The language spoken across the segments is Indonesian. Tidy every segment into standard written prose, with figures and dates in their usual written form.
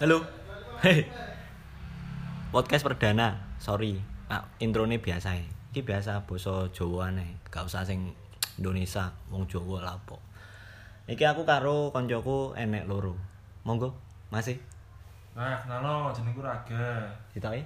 Halo. Hei. Podcast perdana. Sorry. Introne biasa e. Iki biasa basa Jawane, gak usah sing Indonesia, wong Jawa lapo. Iki aku karo koncoku enek loro. Monggo, Mas. Nah, kenalo jenengku Raga. Ditoki.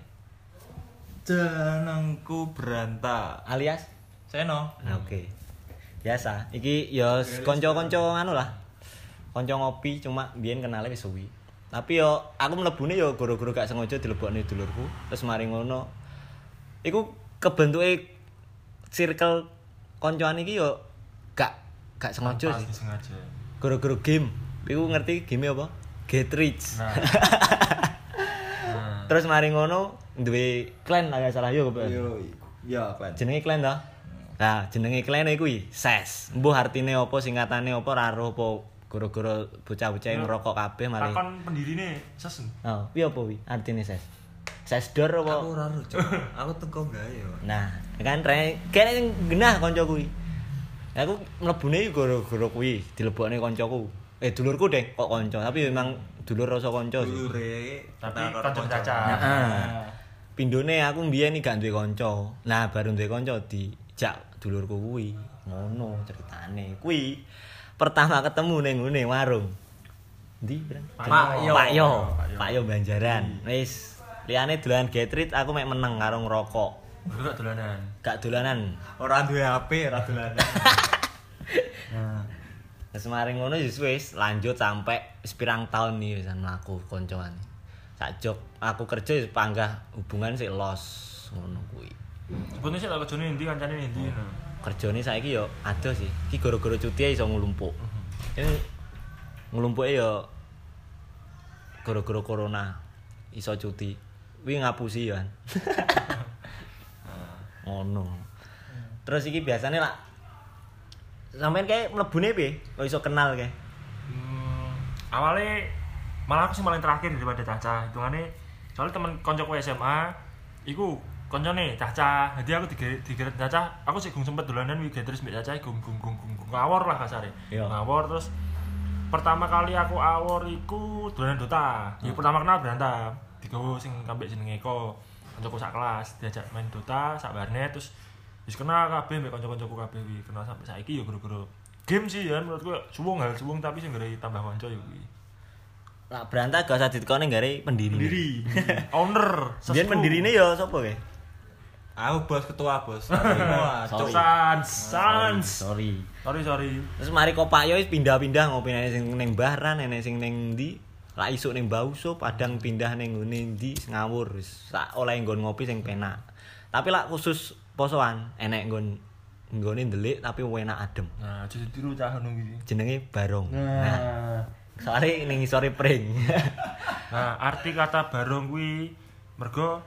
Jenengku Branta Alias Seno. Oke. Biasa. Iki ya kanca-kanca anu lah. Kanca ngopi cuma biyen kenale wis suwi. Tapi yo aku mlebune yo goro-goro gak sengaja dilebokne dulurku. Terus mari ngono iku kebentuke circle koncoan iki yo gak sengaja sih. Sengaja. Goro-goro game. Iku ngerti game apa? Get Rich. Nah. Terus mari ngono duwe clan agak salah yo kebetulan. Yo, ya klan. Jenenge clan ta? Nah, jenenge clan kuwi SES. Mbuh artine apa singkatane apa ra roh apa gara-gara bocah-bocah yang ngerokok kabeh malah. Takon pendirine SES. Oh, piye apa kuwi artine SES? SES-dor apa? Aku ora rujuk. Aku teko gawe yo. Nah, kan kene sing genah kanca kuwi. Aku mlebune gara-gara kuwi dilebokne kancaku. Dulurku deh kok kanca, tapi memang dulur rasa kanca sih. Dulure Tapi kanca caca. Heeh. Pindone aku mbiyen iki gak duwe kanca. Nah, baru duwe kanca dijak dulurku kuwi. Ngono ceritane. Kuwi pertama ketemu ning ngene warung. Ndi, Bran? Pak Yo Banjaran. Wis, liyane dolanan Getrit aku mek meneng karo ngerokok. Gak dolanan. Gak dolanan. Ora duwe HP, ora dolanan. Nah. Terus mari ngono wis lanjut sampai pirang tahun nih wis mlaku koncoan. Sak jok aku kerja panggah hubungan sik los ngono kuwi. Sebetulnya sih tak kerjane endi kancane endi. Kerjane saiki yo ada sih. Iki gara-gara cuti iso nglumpuk. Ini nglumpuke yo gara-gara corona iso cuti. Kuwi ngapusi yo kan. Ngono. Terus iki biasane lah sampean kayak mlebune piye? Kok iso kenal kayak? Awalnya malah aku sih malah terakhir daripada Caca. Hitungane soalnya temen koncoku SMA iku koncone Caca. Jadi aku digeret Caca, aku sih gum sempet dolanan wi terus mbek Caca gum ngawur lah kasare. Iya. Ngawur terus pertama kali aku awor iku dolanan Dota. Ya pertama kenal berantem. Digowo sing kambek jenenge Eko. Koncoku sak kelas diajak main Dota sak warnet terus wis kenal kabeh mbek kanca-kancaku kabeh kuwi. Kenal sampai saiki ya gara-gara game sih ya menurutku suwung tapi sing gara tambah kanca ya kuwi. Lah berantah gak usah ditekone gare pendiri. Owner. Biyen pendirine ya sapa kae? Aku bos ketua bos. Sorry. Sorry. Terus mari kok Pak Yo wis pindah-pindah ngopi nang sing ning Bahran, enek sing ning ndi. Lah isuk ning Bauso, Padang pindah ning ngene ndi ngawur wis sak oleh nggon ngopi sing penak. Tapi lak khusus posoan enek nggone ndelik tapi enak adem. Nah, aja ditiru cah ngono iki. Jenenge Barong. Nah, soalnya ning isore pring. Nah, arti kata barong kuwi mergo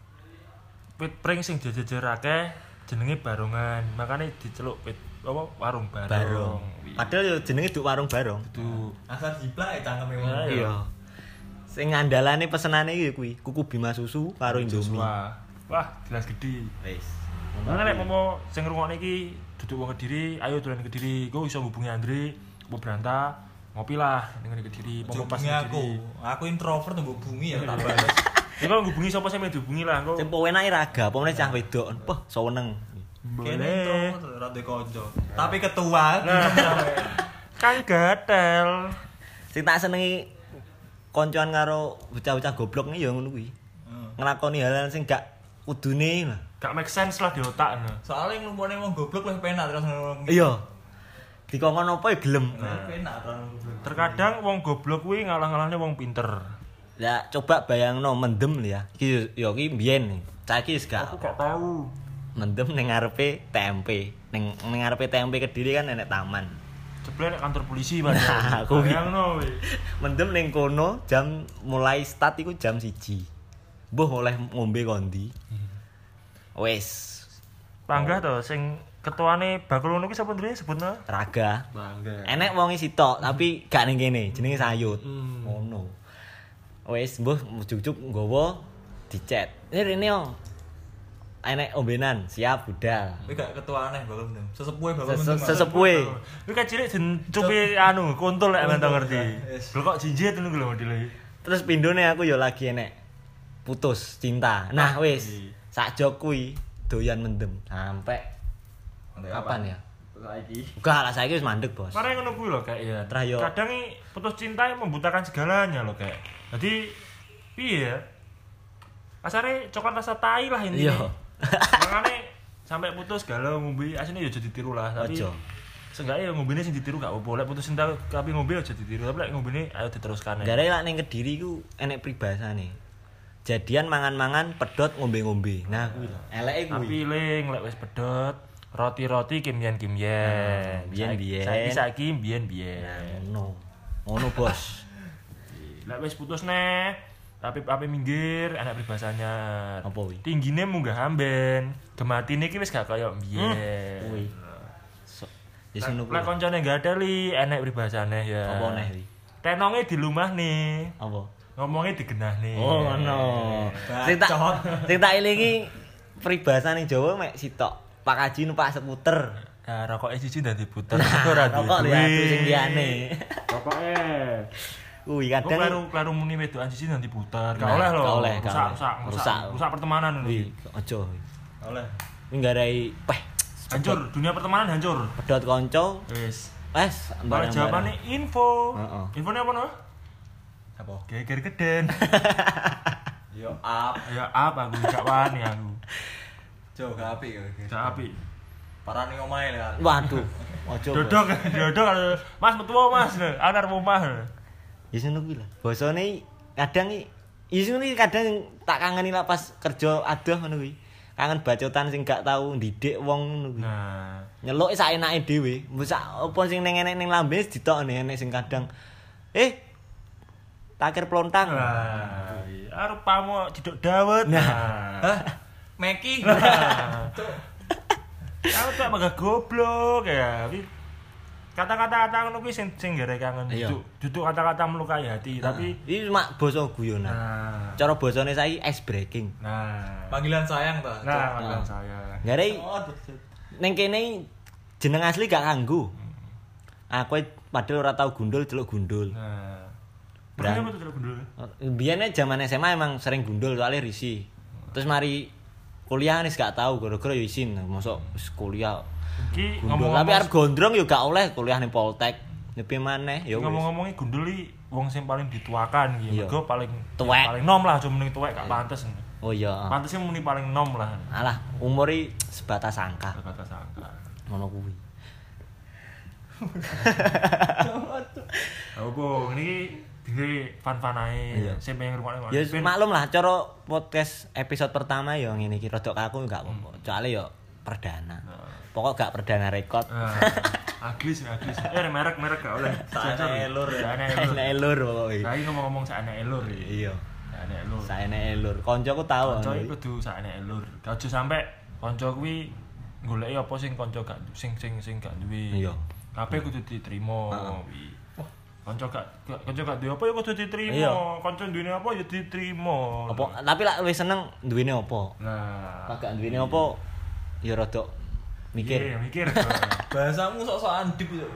wit pring sing jejer akeh jenenge barongan. Makane diceluk wit apa warung barong. Padahal yo jenenge duk warung barong. Tuh. Asal jiplak cangkeme wong. Iya. Sing ngandalane pesenane iki kuwi, kuku Bima susu karo Indomie. Wah, jelas gede. Wis. Nah, nek momo sing ngrungokne iki duduk wong Kediri, ayo dolan Kediri. Go iso hubungi Andre, mau beranta, ngopi lah ning Kediri. Momo pas aku. Aku introvert mbok bungi ya tak bales. Iku ngubungi sapa sing dihubungi lah engko. Sing penake raga, apa meneh cah wedok. Poh, seneng. Kene introvert ora duwe kanca. Tapi ketua. Kan gatel. Sing tak senengi koncoan karo bocah-bocah goblok iki ya ngono kuwi. Nglakoni hal-hal sing gak kudune lah. Gak make sense lah di otak. Soale nglumpune wong goblok luwih penak terus ngono. Iya. Dikongkon apa ya gelem. Penak Terkadang wong goblok kuwi ngalah-ngalahne wong pinter. Ya coba bayangno mendem ya. Iki yo iki mbiyen nih. Saiki wis gak. Aku gak tahu. Mendem ning ngarepe TMP. Ning ngarepe TMP Kediri kan enek taman. Jeble nek kantor polisi Nah, padahal. kuwi. Bayangno kuwi. Mendem ning kono jam mulai start iku jam 1. Mbuh oleh ngombe kondi. Wes. Panggah to sing ketuane bakul ngono ki sapa ndene sebutna? Raga. Bangga. Enek wong sitok tapi gak ning kene, jenenge Sayut. Ngono. Wes mbuh juk-juk nggawa dicet. Rene yo. Enek ombenan, siap budal. Kuwi gak ketuane bakal ndem. Sesepuhe bakal Sesepuhe. Kuwi kan cilik jen cupi anu, kontol lek men ngerti. Yes. Lho kok jinjit ngono lho modele. Terus pindone aku ya lagi enek putus cinta. Nah, wis sak jok kuwi doyan mendem sampai kapan ya? Saiki. Enggak lah saiki wis mandek, Bos. Karena ngono kuwi lho kayak ya. Terus yo- Kadang putus cinta yang membutakan segalanya lho kayak. Jadi piye ya? Asare coklat rasa tai lah ini. Iya. Makane sampai putus galau ngombe asine ya aja ditiru lah, tapi Ojo. seenggaknya ya ngombene sing ditiru gak apa-apa. Lek putus cinta tapi ngombe aja ditiru, tapi lek ngombene ayo diteruskan. Gara lak ning Kediri ku enek pribasane. Jadian mangan-mangan pedot ngombe-ngombe. Nah, kuwi lho. Eleke kuwi. Tapi ling lek wis pedot roti-roti kimyen-kimyen. Biyen-biyen. Saiki Nah, biyen-biyen. ngono. Ngono, Bos. Lek wis putus neh, tapi ape minggir enak pribasanya. Apa kuwi? Tinggine munggah amben. Gematine iki wis gak kaya biyen. Kuwi. Ya sing Lek koncone gak ada li enak pribasane ya. Apa neh kuwi? Tenonge dilumah nih. Apa? Ngomongnya digenah nih. Oh, ngono. Sing tak elingi peribahasane Jawa mek sitok. Pak Haji numpak skuter. Nah, rokoknya siji dadi puter. Nah, Ora rokok duwe. lihat tuh sing liyane. Rokoknya. Kuwi Kok kadang klaru muni wedokan siji nanti puter. Gak Nah, oleh lho. gak oleh, gak Rusak, oleh. rusak, rusak pertemanan kuwi ini. aja. Oleh. Kuwi nggarai Hancur, dunia pertemanan hancur. pedot kanca. Wis. Wes, Kalau jawabane info. Heeh. Infonya apa no? Apa? Geger geden. Yo up. Ya apa aku gak wani aku. Jo gak apik kok. Gak apik. Parane omahe lho. Waduh, aja. Dodok, dodok kalau Mas metu Mas, aku arep omah. Ya ngono kuwi lah. Basane kadang isu ini kadang tak kangeni lah pas kerja adoh ngono kuwi. Kangen bacotan sing gak tau ndidik wong ngono kuwi. Nah, Nyeluke sak enake dhewe. Mbok sak apa sing ning enek ning lambe ditokne enek sing kadang takir plontang. nah, arep pamu jeduk dawet. Hah? Meki. Aku tak megah goblok ya. Kata-kata ngono kuwi sing gara kangen. Iya. Duduk kata-kata melukai hati, tapi Iki cuma basa guyonan. nah, Cara basane saiki ice breaking. nah, Panggilan sayang ta. nah, panggilan saya. Gare ning kene jeneng asli gak kanggo. Aku padahal ora tau gundul celuk gundul. Nah. Berang. Berarti apa tuh gundul? Biyen zaman SMA emang sering gundul soalnya risih. Terus mari kuliah nih gak tau gara-gara yo isin. Mosok wis kuliah Iki gundul. Tapi arep gondrong yo gak oleh kuliah ning Poltek. Nyepi maneh yo wis. ngomong-ngomongi gundul iki wong sing paling dituakan iki. Iya. Mergo paling Tuwek. paling nom lah, cuma muni tuwek gak pantes. Oh iya. Pantesnya muni paling nom lah. Alah, umuri sebatas angka. Kata sangka. Ngono kuwi. Apa ini di fan-fan ae. Iya. Sing pengen ngrungokne. Ya maklum lah cara podcast episode pertama ya ngene iki rodok kaku gak apa-apa. Soale ya perdana. Pokok gak perdana rekod. Aglis. Merek gak oleh. Saene elur ya. Saene elur. Saene elur pokoke. Saiki ngomong-ngomong saene elur iki. Iya. Saene elur. Saene elur. Koncoku tau. Kanca iki kudu saene elur. Aja sampe kanca kuwi goleki apa sing kanca gak sing gak duwe. Iya. Kabeh kudu diterima kuwi. Kanca gak duwe apa ya kudu diterima. Iya. Kanca duwene apa ya diterima. Apa tapi lak luwih seneng duwene apa? Nah, Kagak duwene apa ya rodok mikir. Iya, mikir. Bahasamu sok-sokan dip yo.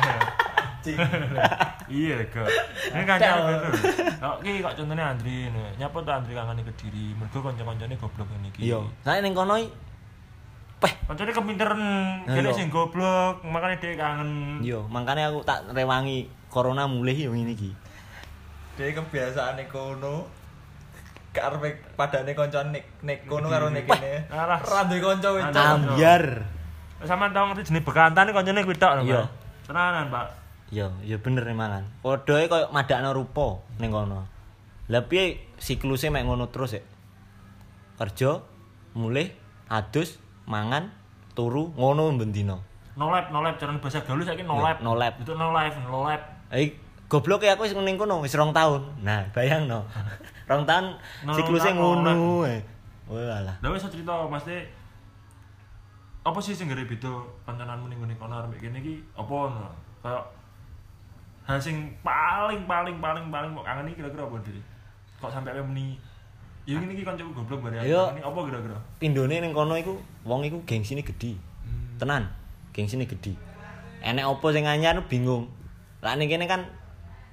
Iya, kok. Ini kanca bener. Kok iki kok contone Andri. Nyapa tuh Andri kangane Kediri. Mergo kanca-kancane goblok ngene iki. Iya. Saya ning kono Kancane kepinteran, kene sing goblok, makane dhek kangen. iya, makane aku tak rewangi corona mulih yo ngene iki. Dhewe kebiasaane kono. Gak arep padane koncone nek kono karo nek kene. Alah. Ra duwe kanca wis. Ambiar. Sampeyan tau ngerti jenis bekantan kancane kuwi tok lho, Iya. Pak. Tenanan, Pak. Iya, ya bener mangan. Podoke koyo madakno rupa ning kono. Lah piye sikluse mek ngono terus ya? Kerja, mulih, adus, mangan, turu, ngono bendina. No lab cara bahasa gaul saiki no lab. No lab. Itu no lab. Goblok ya aku wis ning kono wis 2 tahun. Nah, bayangno. 2 tahun No, sikluse no, no, ngono ae. Walah. Lah wis cerita Mas De. Apa sih sing gere beda kancananmu ning ngene kono arep kene iki apa ngono? Kayak hal sing paling kok kangen iki kira-kira apa Diri? Kok sampai kowe muni ya ngene iki kancaku goblok bare Ayo. ini apa kira-kira? Pindone ning kono iku wong iku gengsine gedhi. Tenan, gengsine gedhi. Enek apa sing anyar bingung. Lah ning kene kan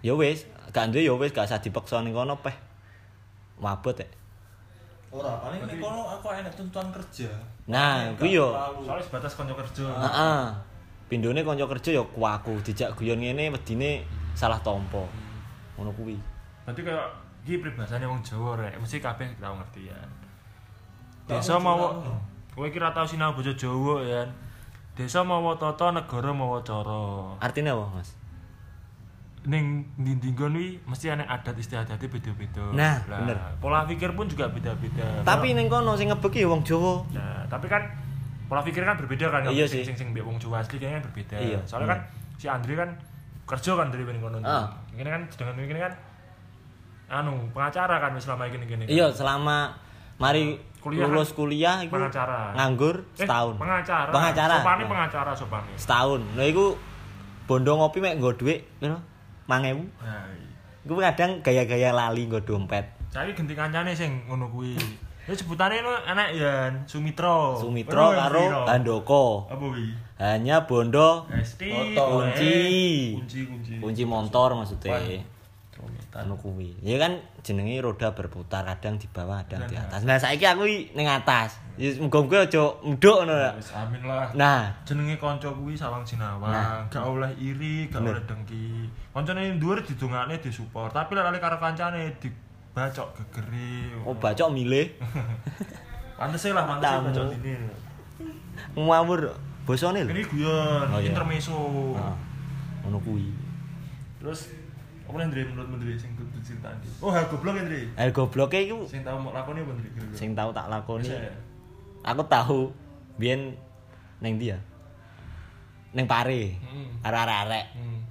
Ya wis, gak duwe ya wis gak usah dipaksa ning kono peh. Mabot ya. Ora, paling nek kono aku enek tuntutan kerja. Nah, kuwi yo. Soalnya sebatas kanca kerja. Heeh. Pindhone kanca kerja ya kuwaku dijak guyon ngene wedine salah tampa. Ngono kuwi. Berarti kayak iki pribasane wong Jawa rek, mesti kabeh tau ngerti ya. Desa mawa kowe iki ra tau sinau basa Jawa ya. Desa mawa tata, negara mawa cara. Artine apa, Mas? Ning ndi-ndi nggon kuwi mesti ana adat istiadatnya beda-beda. Nah, Lah, bener. pola pikir pun juga beda-beda. Tapi ning kono sing ngebeki ya wong Jawa. Nah, tapi kan pola pikir kan berbeda kan. Iya sih. Sing mbek wong Jawa asli kan berbeda. Iya. Soalnya kan si Andre kan kerja kan dari ning kono. Ah. Ini kan sedangkan ini kan pengacara kan selama ini. Iya, selama mari Kuliah lulus kuliah iku pengacara. nganggur setahun. Pengacara. Pengacara. Sopane pengacara sopane. Setahun. Lha iku bondo ngopi mek nggo dhuwit piro? 5.000. Nah, Iku kadang gaya-gaya lali nggo dompet. saiki ganti kancane sing ngono kuwi. Ya sebutane anak ya Sumitra. Sumitra karo Handoko. Apa kuwi? Hanya bondo Esti. kunci. Kunci. Kunci motor maksudnya. Trometan. Anu kuwi. Ya kan jenenge roda berputar, kadang di bawah, kadang di atas. Nah, saiki aku ning atas. Ya muga-muga aja nduk ngono. Wis amin lah. Nah, Jenenge kanca kuwi sawang sinawang, Nah. gak oleh iri, gak Bener. oleh dengki. Kancane dhuwur didongakne disupport, tapi lek karo kancane dibacok gegeri. oh bacok milih. Pantese lah, pantese Tamu. bacok dini. Ngawur bosone lho. Ini guyon, Oh, iya. intermezzo. Heeh. Ngono kuwi. Terus apa nih Andre menurut Andre sing kudu critani? Oh, hal goblok Andre. Ayo gobloke iku Sing tau mau lakoni apa Andre kira-kira? sing tau tak lakoni. Bisa ya? Aku tahu biyen ning ndi ya? Ning Pare. Arek-arek.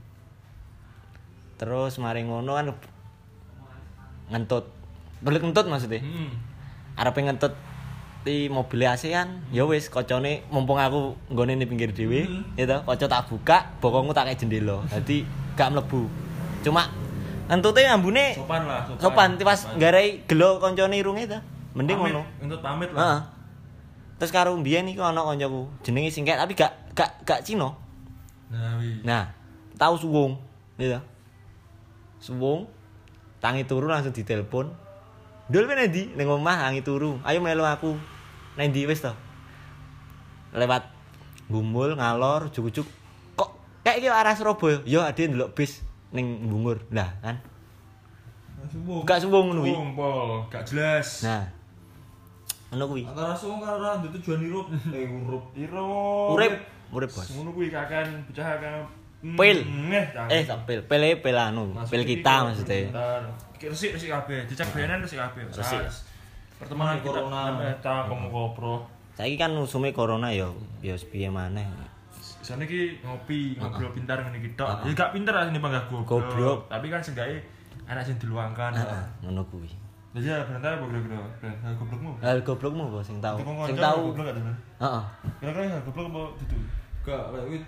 Terus mari ngono kan ngentut. Belik ngentut maksudnya. Arepe ngentut di mobil ASEAN, ya wis kocone mumpung aku nggone ning pinggir dhewe, ya to, kaca tak buka, bokongku tak kei jendela. Dadi gak mlebu. Cuma ngentute ambune Sopan lah, sopan pas nggarai gelo kancane irunge to. Mending Pamit, ngono. Untuk pamit Heeh. lah. Terus karo mbiyen iku ana kancaku, jenenge Singket tapi gak Cina. Nah, wi. Nah, tahu suwung, gitu. Suwung, tangi turu langsung ditelepon. Ndul men ndi? Ning omah tangi turu. Ayo melu aku. Nang ndi wis to? Lewat Gumul, Ngalor, Juk-juk. Kok kayak iki arah Surabaya? Ya ade ndelok bis ning Bungur. Lah, kan. Gak suwung ngono kuwi. Pol, gak jelas. Nah. Ngono kuwi. Antara suwung karo ora ndek tujuan hirup. Urup. Iro. Urip bos. Ngono kuwi kakan bocah kakan. Pil. Neh. Pil. Pil anu, pil kita maksudnya. Resik kabeh, dicek bayanan resik kabeh. Resik. Pertemanan Corona. kita komo kopro. Saiki kan usume corona ya piye maneh. Sana iki ngobrol pintar ngene iki tok. Ya gak pintar asline panggah Goblok. goblok. Tapi kan seenggaknya anak sing diluangkan. Heeh, ngono kuwi. Jadi ya berantai apa kira-kira? Hal goblokmu? Hal goblokmu apa sing tau? Sing Sing tau. goblok gak tenan? Heeh. Kira-kira hal goblok apa dudu? Gak lek wit.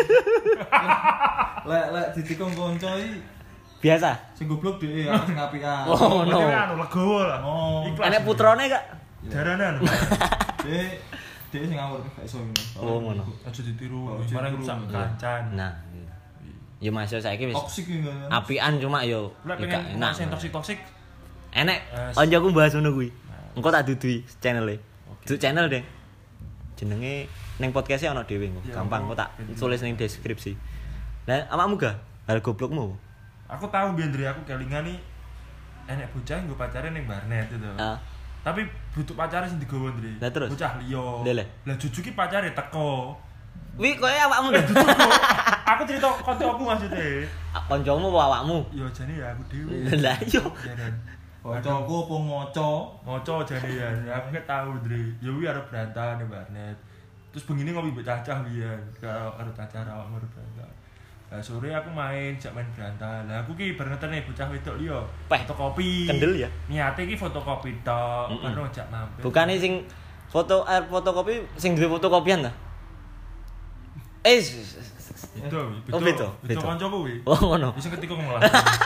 Lek ditikung kanca iki Biasa. sing goblok dhewe ya sing apian. Oh no. Berarti anu legowo lah. Oh. Ikhlas. Enek putrane gak? Jaranan. Dhewe sing ngawur gak iso ngene. Oh ngono. Aja ditiru, Oh, marang ditiru. sak kancan. Nah. Ya Mas saiki wis Toksik iki kan. apian cuma yo Lek gak pengen enak. sing toksik-toksik Enek koncoku bahas ngono kuwi. Engko tak dudui channel-e. Duduk channel deh. Jenenge ning podcast-e ana dhewe engko. Ya, Gampang engko kok tak tulis ning deskripsi. Lah awakmu gak? Hal goblokmu? aku tahu biar aku kelingan nih enek bocah nggo pacare ning Barnet itu. Heeh. Tapi butuh pacare sing digowo Ndri. Lah terus? Bocah liya. Lha. Lah juju ki pacare teko. Wi koyo awakmu lho. Aku cerita kancaku maksudnya. Kancamu apa awakmu? Ya jane ya aku dhewe. Lah iya. Jaran. Kancaku apa ngoco? Moco jane ya. Aku gak tahu Ndri. Ya wi arep berantan ning Barnet. Terus begini ngopi mbek cacah biyen. Karo cacah awakmu arep berantan. Lah sore aku jak main berantai. Lah aku ki bareng nih bocah wedok liya. Peh, Fotokopi. kendel ya? Niate ki fotokopi tok, karo jak mampir. Bukane sing fotokopi sing duwe fotokopian ta? Itu, Oh, beda. Itu kancaku kuwi. Oh ngono. Wis ketika ngolah.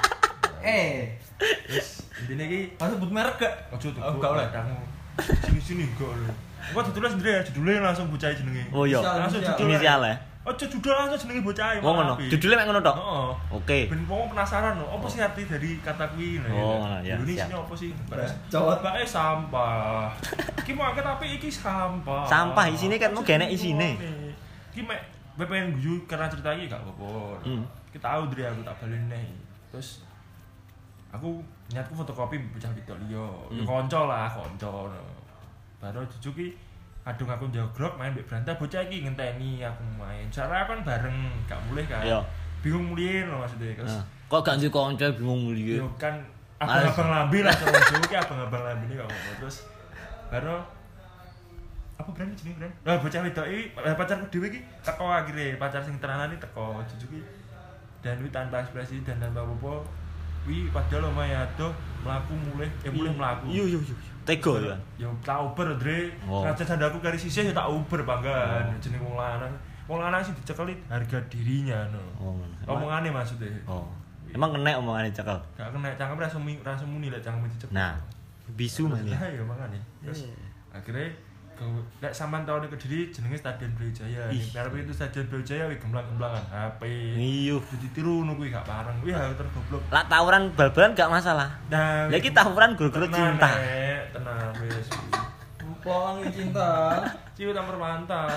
Wis intine ki Harus sebut merek gak? ojo tuh. Oh, gak oleh. Sini-sini gak oleh. Engko ditulis Ndre, judulnya langsung bocah jenenge. Oh iya. Langsung Inisial. judul. Inisial ya. Aja judul aja jenenge bocah. Oh ngono. Judulnya mek ngono tok. Heeh. Oke. Ben wong penasaran lho, apa sih arti dari kata kuwi? Oh, ya, Ini siap. sini apa sih? Cowok. Bae sampah. Iki mau akeh tapi iki sampah. Sampah isine kan mau genek isine. Iki mek pengen guyu karena cerita iki gak apa-apa. Kita tahu dari aku tak balen neh. Terus aku niatku fotokopi bocah Victor liya. Ya kanca lah, kanca. Baru jujuk ki kadung aku jogrok main mbek Branta bocah iki ngenteni aku main. Cara kan bareng gak mulih kan. Iya. Bingung mulih lho maksudnya. Terus Kok gak njuk kanca bingung liye. yo kan abang-abang lambe lah cara Jawa ki abang-abang lambe ini gak apa-apa. Terus baru apa brand jenenge brand? Lah bocah wedok iki pacarku dhewe iki teko akhire pacar sing tenanan iki teko jujuk ki. Dan wi tanpa ekspresi dan tanpa apa-apa wi padahal omahe adoh mlaku mulih mlaku. Iya. Tego ya. Ya tak Uber, Dre. Oh. Ngajar sandaku kari sisih ya tak Uber banggaan. Jeneng wong lanang. Wong lanang sing dicekeli harga dirinya no. Oh ngono. Omongane maksudnya. Oh. Emang kena omongane cekel. Gak kena cangkem rasa muni lek cangkem dicekeli. Nah, bisu Terus, mana? ya makane. Terus akhirnya lek sampean tahun Kediri jenenge Stadion Brawijaya. Ih. Ning arep itu Stadion Brawijaya wi gemblang-gemblangan HP. Iya. Jadi tiru ngono kuwi gak pareng. Kuwi hal tergoblok. Lah tawuran bal-balan gak masalah. Nah, Lah iki tawuran guru-guru cinta. Tenang wis. Pong cinta. Ciwi tamper mantap.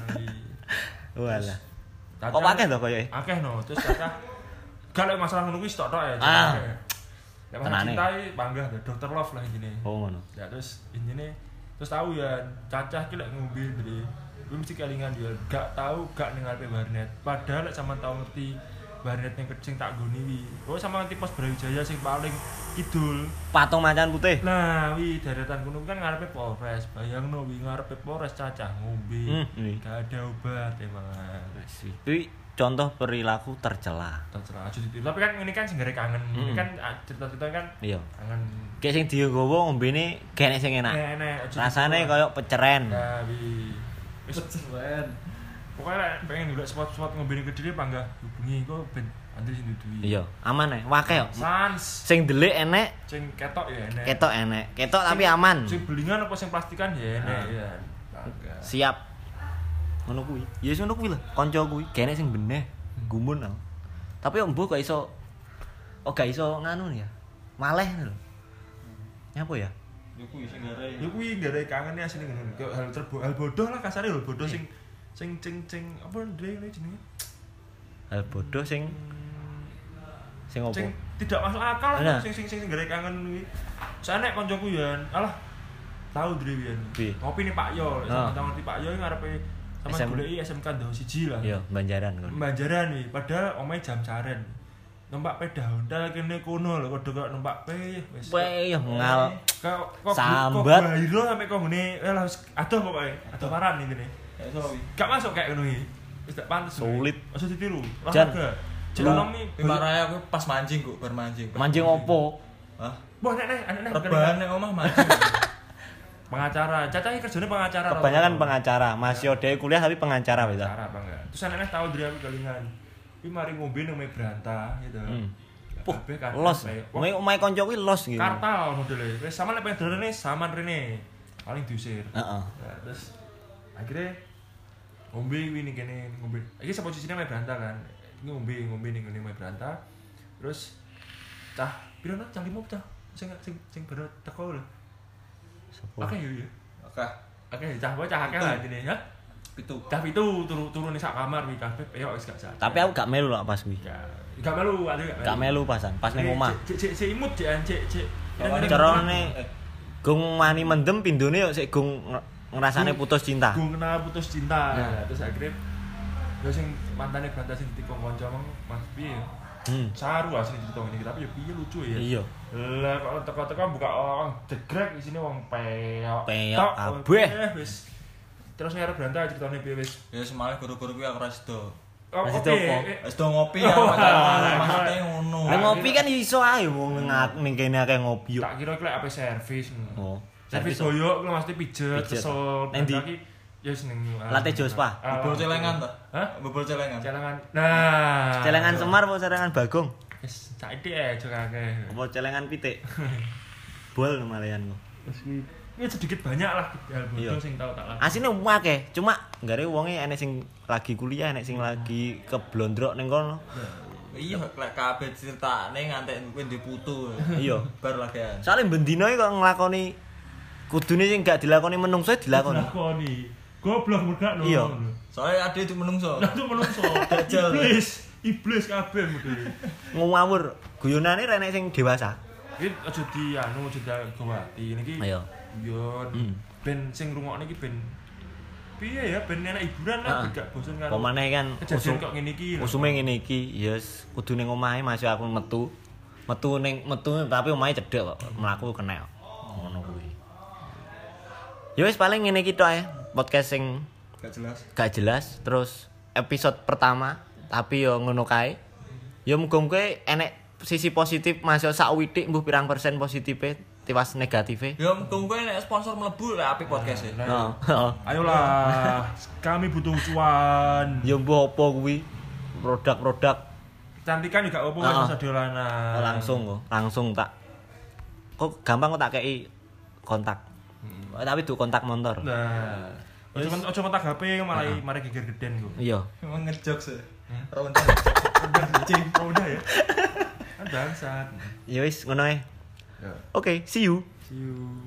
Walah. Caca- Kok akeh to koyoke? Akeh no, terus Caca gak lek masalah ngono kuwi tok ya. Ah. Lek masalah Tenane. cinta iki bangga Dr. Love lah intine. Oh ngono. Ya terus intine terus tahu ya Caca ki lek ngombe dari kuwi mesti kelingan dia gak tahu gak ning ngarepe warnet. Padahal lek sampean tau ngerti warnet yang sing tak goni wi. Oh sama ngerti pos Brawijaya sing paling kidul. Patung macan putih. Nah, wi deretan kuno kan ngarepe Polres. Bayangno wi ngarepe Polres Caca ngombe. Ini. Gak ada obat emang. Kuwi contoh perilaku tercela. Terserah aja itu. Tapi kan ini kan sing gara kangen. Ini kan cerita-cerita kan Iya. kangen. Kayak sing digowo ngombene gene sing enak. Enak. Rasane koyo peceren. Nah, wi. Wis Keren. pokoknya pengen golek spot-spot ngombe ning Kediri apa enggak hubungi kok ben Andri sing duwe. Iya, aman ae. Wake yo. Sans. Sing delik enek, Sing ketok ya enak. ketok enek. Ketok tapi aman. Sing belingan apa sing plastikan ya enak ya. Bangga. Siap. Ngono kuwi. Ya wis ngono kuwi lho. Kanca kuwi gene sing beneh. Gumun aku. Tapi yo mbok gak iso gak iso nganu ya. Maleh lho. Nyapa ya? Yo kuwi sing garai. Ya kuwi gara kangen ya asline ngono. Kayak hal bodoh lah kasare hal bodoh sing apa Andre ini jenenge? Hal bodoh sing opo? Sing tidak masuk akal Nah. sing gara kangen kuwi. Sanek koncoku ya. Alah. Tahu Dre wian. Piye? Ngopi nih Pak Yo, Ah. sama ngerti Pak Yo ngarepe sama SM. goleki SMK Ndawa 1 lah. Iya, Banjaran kon. Banjaran nih, padahal omahe jam saren. Numpak peda Honda kene kono lho, padha kok numpak pe wis. Weh, yo ngal. Kok Sambat. Kok bahiro sampe kok ngene, lah adoh pokoke, adoh paran intine. Gak masuk kayak ngono iki. Wis tak pantes. Sulit. Aja ditiru. Jan. Olahraga. Ekonomi. Marahnya aku pas mancing kok, bar mancing. Mancing opo? Hah? Wah, nek. Rebahan ning omah mancing. Pengacara. Caca iki kerjane pengacara. Kebanyakan pengacara. Masih ode kuliah tapi pengacara wis. Pengacara bangga. Terus anaknya tahu dari aku kelingan. Kuwi mari ngombe nang Branta gitu. Puh, Kabeh kan los. sampe- Omahe kanca kuwi los gitu. Kartal modele. Wis sama nek pengen dolane saman rene. Paling diusir. Heeh. Nah, terus akhirnya ngombe kuwi ning kene ngombe. Iki sapa sisine Mae Branta kan. Iki ngombe ning ngene Mae Branta. Terus cah piro no cah 5 cah sing baru teko lho. Sopo? Oke yo. Oke. Oke, cah bocah akeh lah intine ya. Pitu. Cah itu turun sak kamar wi kabeh peyok wis gak sak. Tapi aku gak melu lho pas kuwi. Gak melu, Gak melu pasan, pas ning omah. Cek imut cek. Carane gung wani mendem pindone yo sik gung ngrasane putus cinta. Gue kenal putus cinta. Nah. Terus akhirnya yo sing mantane Branta sing ditikung kanca mong Mas piye. Saru asli cerita ini tapi ya piye lucu ya. Iya. Lah kok teko-teko buka orang jegrek isine wong peyok. Peyok Tok, kabeh. Wis. Terus nyarep Branta ceritane piye wis. Ya semalih guru-guru kuwi aku ra sedo. Masih Oke, topo. Wis do ngopi ya maksudnya ngono. Lah ngopi kan iso ae wong ning kene akeh ngopi yo. tak kira iki lek apa servis. Oh. Servis doyok kuwi mesti pijet, Pijet. kesel. Neng ndi? Branta ki ya seneng. Latte Jospa. Bubur celengan ta? Hah? Bubur celengan. Celengan. Nah. Celengan Semar apa celengan Bagong? Wis saiki ae aja kakek. Apa celengan pitik? Bol malayan kok. Terus kuwi ya sedikit banyak lah hal Iya. bodoh sing tau tak lakukan. Asine akeh, cuma gare wonge enek sing lagi kuliah, enek sing lagi keblondrok ning kono. Iya, lek kabeh critakne ngantek kowe ndek putu. Iya. Bar lagi. Soale bendina iki kok nglakoni kudune sing gak dilakoni menungso dilakoni. Dilakoni. Goblok mergak no. Iya. Soale ade itu menungso. Lah itu menungso. Dajal. Iblis kabeh modele. Ngawur, guyonane renek sing dewasa. Iki aja aja digawati niki. Ayo. Yo ben sing ngrungokne iki ben piye ya ben enak hiburan lah gak bosen karo. Pemane kan kejadian kok ngene iki. usume ngene iki, ya kudu ning omahe masih aku metu. Metu tapi omahe cedhek kok. Mlaku kena. Ngono kuwi. Ya wis paling ngene iki tok ae. Podcast sing Gak jelas. terus episode pertama tapi yo ngono kae. Ya muga-muga enek sisi positif masuk sak widik mbuh pirang persen positife tiwas negatife. Ya muga-muga nek sponsor mlebu lek apik podcast e. Heeh. Ayolah, kami butuh cuan. Ya mbuh apa kuwi produk-produk Cantikan juga opo kan bisa diolanan. langsung tak. Kok gampang kok tak kei kontak. Tapi tuh kontak motor. Nah, ojo kontak HP malah geger geden kok. Iya. Emang ngejok sih. Ronda. Udah ya. Kan bangsat. Ya wis ngono ae. Oke, see you. See you.